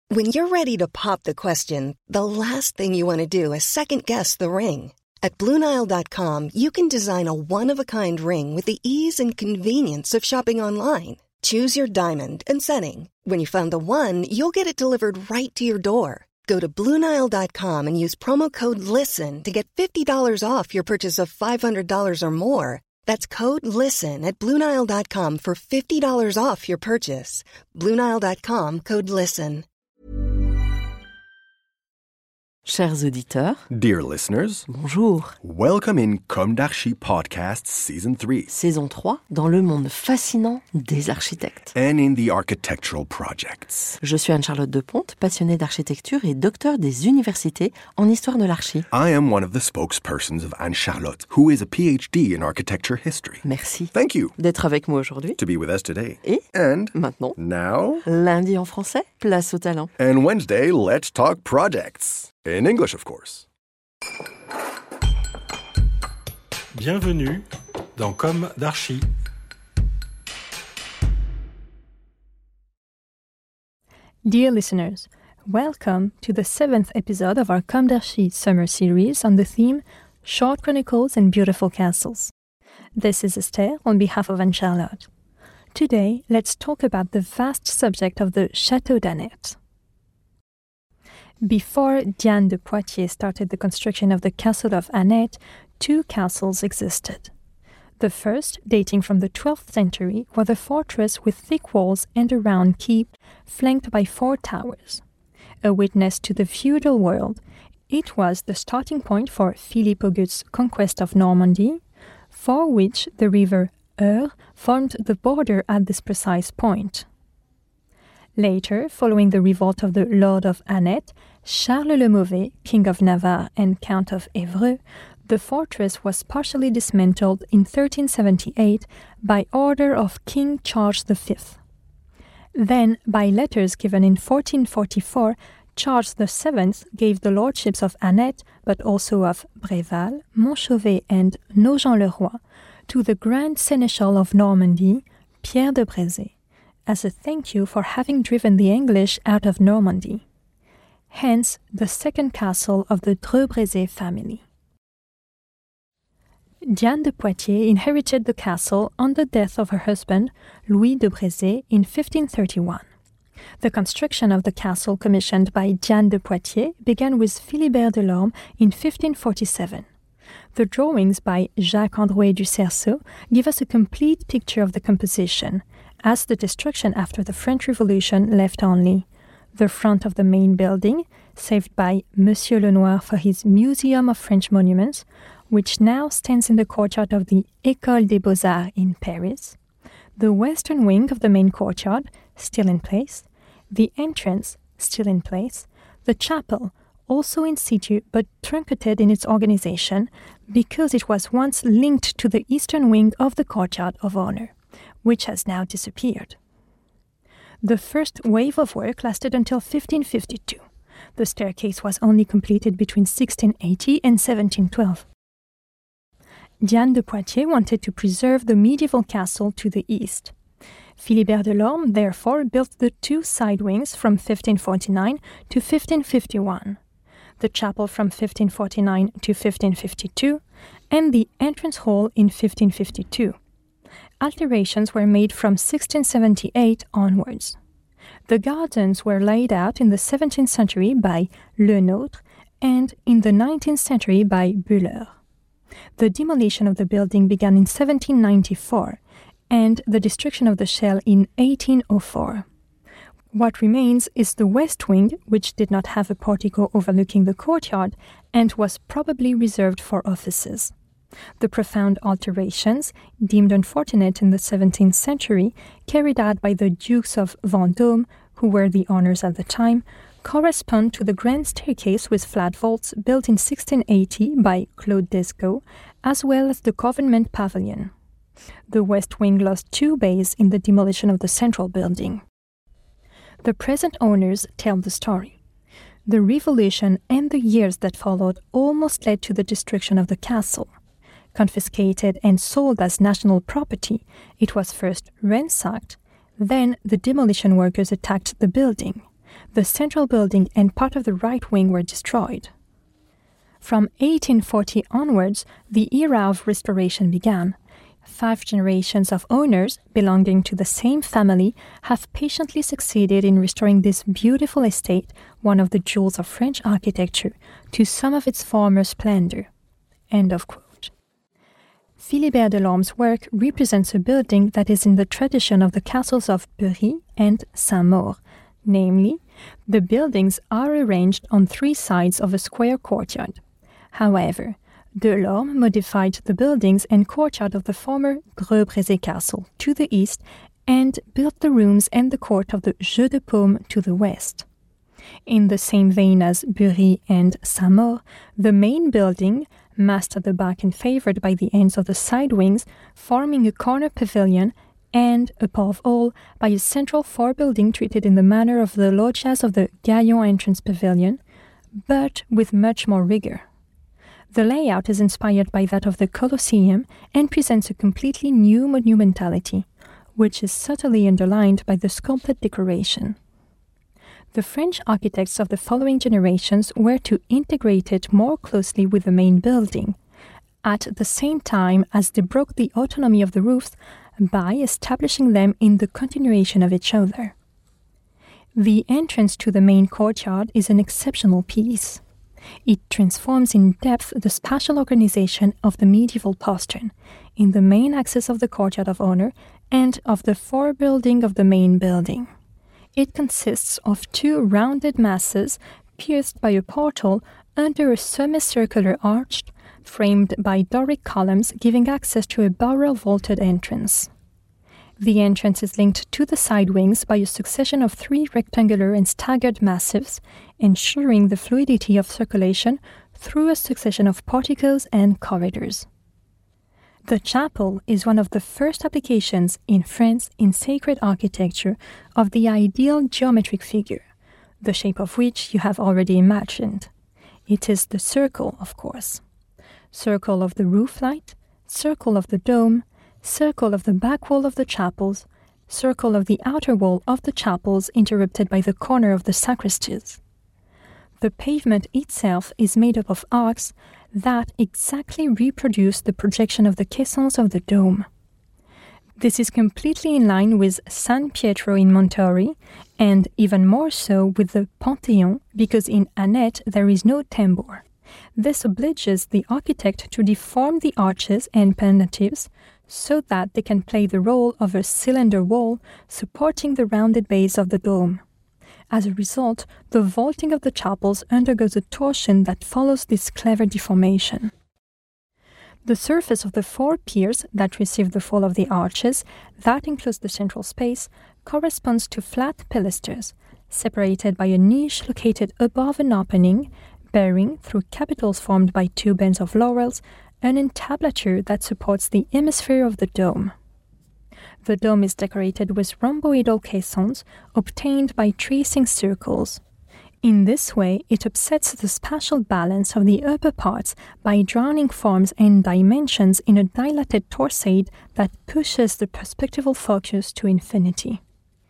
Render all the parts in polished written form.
When you're ready to pop the question, the last thing you want to do is second-guess the ring. At BlueNile.com, you can design a one-of-a-kind ring with the ease and convenience of shopping online. Choose your diamond and setting. When you find the one, you'll get it delivered right to your door. Go to BlueNile.com and use promo code LISTEN to get $50 off your purchase of $500 or more. That's code LISTEN at BlueNile.com for $50 off your purchase. BlueNile.com, code LISTEN. Chers auditeurs, dear listeners, bonjour. Welcome in Comme d'Archi Podcast Season 3. Saison 3, dans le monde fascinant des architectes. And in the architectural projects. Je suis Anne-Charlotte Deponte, passionnée d'architecture et docteur des universités en histoire de l'archi. I am one of the spokespersons of Anne-Charlotte, who is a PhD in architecture history. Merci. Thank you. D'être avec moi aujourd'hui. To be with us today. Et And maintenant, now, lundi en français, place au talent. And Wednesday, let's talk projects. In English, of course. Bienvenue dans Comme d'Archi. Dear listeners, welcome to the 7th episode of our Comme d'Archi summer series on the theme Short Chronicles and Beautiful Castles. This is Esther on behalf of Anne-Charlotte. Today, let's talk about the vast subject of the Château d'Annet. Before Diane de Poitiers started the construction of the castle of Annet, two castles existed. The first, dating from the 12th century, was a fortress with thick walls and a round keep flanked by 4 towers. A witness to the feudal world, it was the starting point for Philippe August's conquest of Normandy, for which the river Eure formed the border at this precise point. Later, following the revolt of the Lord of Annet, Charles le Mauvais, King of Navarre and Count of Évreux, the fortress was partially dismantled in 1378 by order of King Charles V. Then, by letters given in 1444, Charles VII gave the lordships of Annet, but also of Bréval, Montchauvet and Nogent-le-Roi, to the Grand Seneschal of Normandy, Pierre de Brézé, as a thank you for having driven the English out of Normandy. Hence, the second castle of the Dreux-Brézé family. Diane de Poitiers inherited the castle on the death of her husband, Louis de Brézé, in 1531. The construction of the castle commissioned by Diane de Poitiers began with Philibert Delorme in 1547. The drawings by Jacques Androuet du Cerceau give us a complete picture of the composition, as the destruction after the French Revolution left only the front of the main building, saved by Monsieur Lenoir for his Museum of French Monuments, which now stands in the courtyard of the École des Beaux-Arts in Paris, the western wing of the main courtyard, still in place, the entrance, still in place, the chapel, also in situ but truncated in its organization because it was once linked to the eastern wing of the courtyard of honor, which has now disappeared. The first wave of work lasted until 1552. The staircase was only completed between 1680 and 1712. Diane de Poitiers wanted to preserve the medieval castle to the east. Philibert Delorme therefore built the 2 side wings from 1549 to 1551, the chapel from 1549 to 1552, and the entrance hall in 1552. Alterations were made from 1678 onwards. The gardens were laid out in the 17th century by Le Nôtre and in the 19th century by Bühler. The demolition of the building began in 1794 and the destruction of the shell in 1804. What remains is the west wing, which did not have a portico overlooking the courtyard and was probably reserved for offices. The profound alterations, deemed unfortunate in the 17th century, carried out by the Dukes of Vendôme, who were the owners at the time, correspond to the grand staircase with flat vaults built in 1680 by Claude Descaux, as well as the government pavilion. The west wing lost 2 bays in the demolition of the central building. The present owners tell the story. The revolution and the years that followed almost led to the destruction of the castle. Confiscated and sold as national property, it was first ransacked, then the demolition workers attacked the building, The central building and part of the right wing were destroyed. From 1840 onwards, the era of restoration began. 5 generations of owners belonging to the same family have patiently succeeded in restoring this beautiful estate, one of the jewels of French architecture, to some of its former splendor. End of quote. Philibert Delorme's work represents a building that is in the tradition of the castles of Bery and Saint-Maur. Namely, the buildings are arranged on 3 sides of a square courtyard. However, Delorme modified the buildings and courtyard of the former Greux-Brézé castle to the east and built the rooms and the court of the Jeu de Paume to the west. In the same vein as Bery and Saint-Maur, the main building, massed at the back and favored by the ends of the side wings, forming a corner pavilion, and, above all, by a central forebuilding treated in the manner of the loggias of the Gaillon entrance pavilion, but with much more rigor. The layout is inspired by that of the Colosseum and presents a completely new monumentality, which is subtly underlined by the sculpted decoration. The French architects of the following generations were to integrate it more closely with the main building, at the same time as they broke the autonomy of the roofs by establishing them in the continuation of each other. The entrance to the main courtyard is an exceptional piece. It transforms in depth the spatial organization of the medieval postern, in the main axis of the courtyard of honor and of the forebuilding of the main building. It consists of 2 rounded masses pierced by a portal under a semicircular arch framed by Doric columns giving access to a barrel-vaulted entrance. The entrance is linked to the side wings by a succession of 3 rectangular and staggered massives, ensuring the fluidity of circulation through a succession of porticos and corridors. The chapel is one of the first applications in France in sacred architecture of the ideal geometric figure, the shape of which you have already imagined. It is the circle, of course. Circle of the roof light, circle of the dome, circle of the back wall of the chapels, circle of the outer wall of the chapels interrupted by the corner of the sacristies. The pavement itself is made up of arcs that exactly reproduce the projection of the caissons of the dome. This is completely in line with San Pietro in Montori, and even more so with the Panthéon, because in Annette there is no tambour. This obliges the architect to deform the arches and pendantives so that they can play the role of a cylinder wall supporting the rounded base of the dome. As a result, the vaulting of the chapels undergoes a torsion that follows this clever deformation. The surface of the 4 piers that receive the fall of the arches, that enclose the central space, corresponds to flat pilasters, separated by a niche located above an opening, bearing, through capitals formed by 2 bands of laurels, an entablature that supports the hemisphere of the dome. The dome is decorated with rhomboidal caissons obtained by tracing circles. In this way, it upsets the spatial balance of the upper parts by drawing forms and dimensions in a dilated torsade that pushes the perspectival focus to infinity.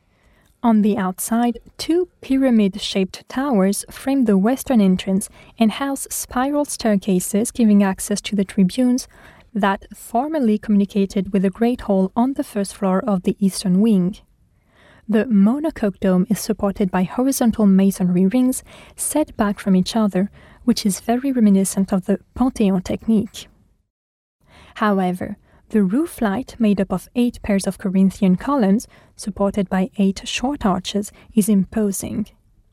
On the outside, 2 pyramid-shaped towers frame the western entrance and house spiral staircases giving access to the tribunes that formerly communicated with the great hall on the first floor of the eastern wing. The monocoque dome is supported by horizontal masonry rings set back from each other, which is very reminiscent of the Panthéon technique. However, the roof light, made up of 8 pairs of Corinthian columns, supported by 8 short arches, is imposing.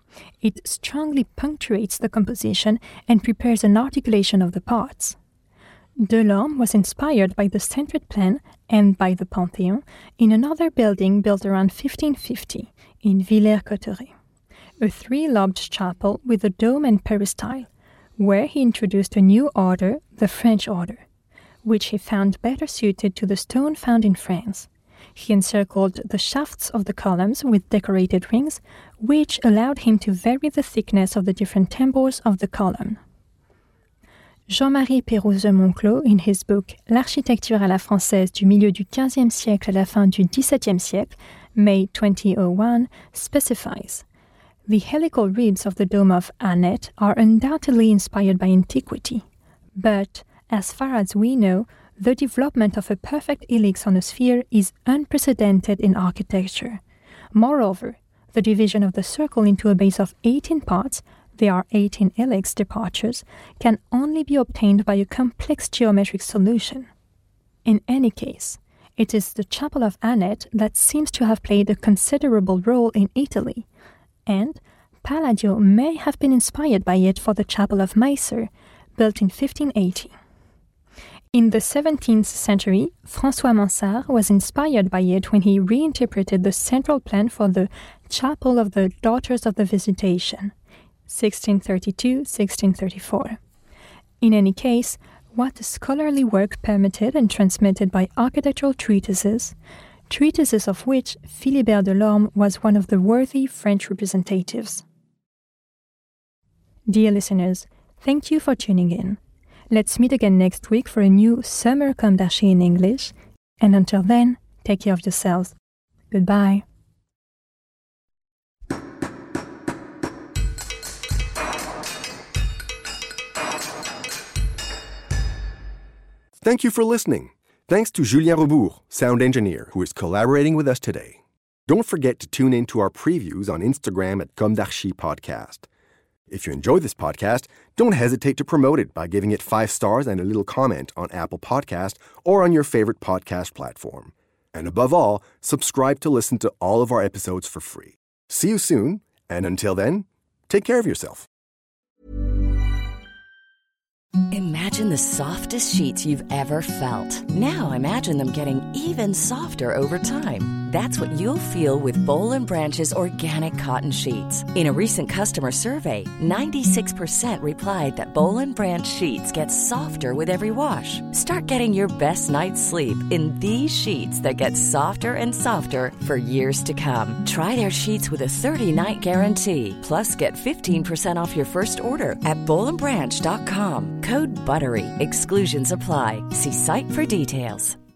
It strongly punctuates the composition and prepares an articulation of the parts. Delorme was inspired by the centered plan and by the Panthéon in another building built around 1550 in Villers-Cotterêts, a 3-lobed chapel with a dome and peristyle, where he introduced a new order, the French order, which he found better suited to the stone found in France. He encircled the shafts of the columns with decorated rings, which allowed him to vary the thickness of the different tambours of the column. Jean-Marie Pérouse-Monclos, in his book L'architecture à la française du milieu du XVe siècle à la fin du XVIIe siècle, May 2001, specifies, The helical ribs of the dome of Anet are undoubtedly inspired by antiquity, but as far as we know, the development of a perfect helix on a sphere is unprecedented in architecture. Moreover, the division of the circle into a base of 18 parts, there are 18 helix departures, can only be obtained by a complex geometric solution. In any case, it is the Chapel of Anet that seems to have played a considerable role in Italy, and Palladio may have been inspired by it for the Chapel of Macer, built in 1580. In the 17th century, François Mansart was inspired by it when he reinterpreted the central plan for the Chapel of the Daughters of the Visitation, 1632-1634. In any case, what the scholarly work permitted and transmitted by architectural treatises of which Philibert Delorme was one of the worthy French representatives. Dear listeners, thank you for tuning in. Let's meet again next week for a new Summer Comme d'Archi in English, and until then, take care of yourselves. Goodbye. Thank you for listening. Thanks to Julien Rebourg, sound engineer, who is collaborating with us today. Don't forget to tune in to our previews on Instagram at Comme d'Archi Podcast. If you enjoy this podcast, don't hesitate to promote it by giving it 5 stars and a little comment on Apple Podcast or on your favorite podcast platform. And above all, subscribe to listen to all of our episodes for free. See you soon, and until then, take care of yourself. Imagine the softest sheets you've ever felt. Now imagine them getting even softer over time. That's what you'll feel with Boll & Branch's organic cotton sheets. In a recent customer survey, 96% replied that Boll & Branch sheets get softer with every wash. Start getting your best night's sleep in these sheets that get softer and softer for years to come. Try their sheets with a 30-night guarantee. Plus, get 15% off your first order at bollandbranch.com. Code BUTTERY. Exclusions apply. See site for details.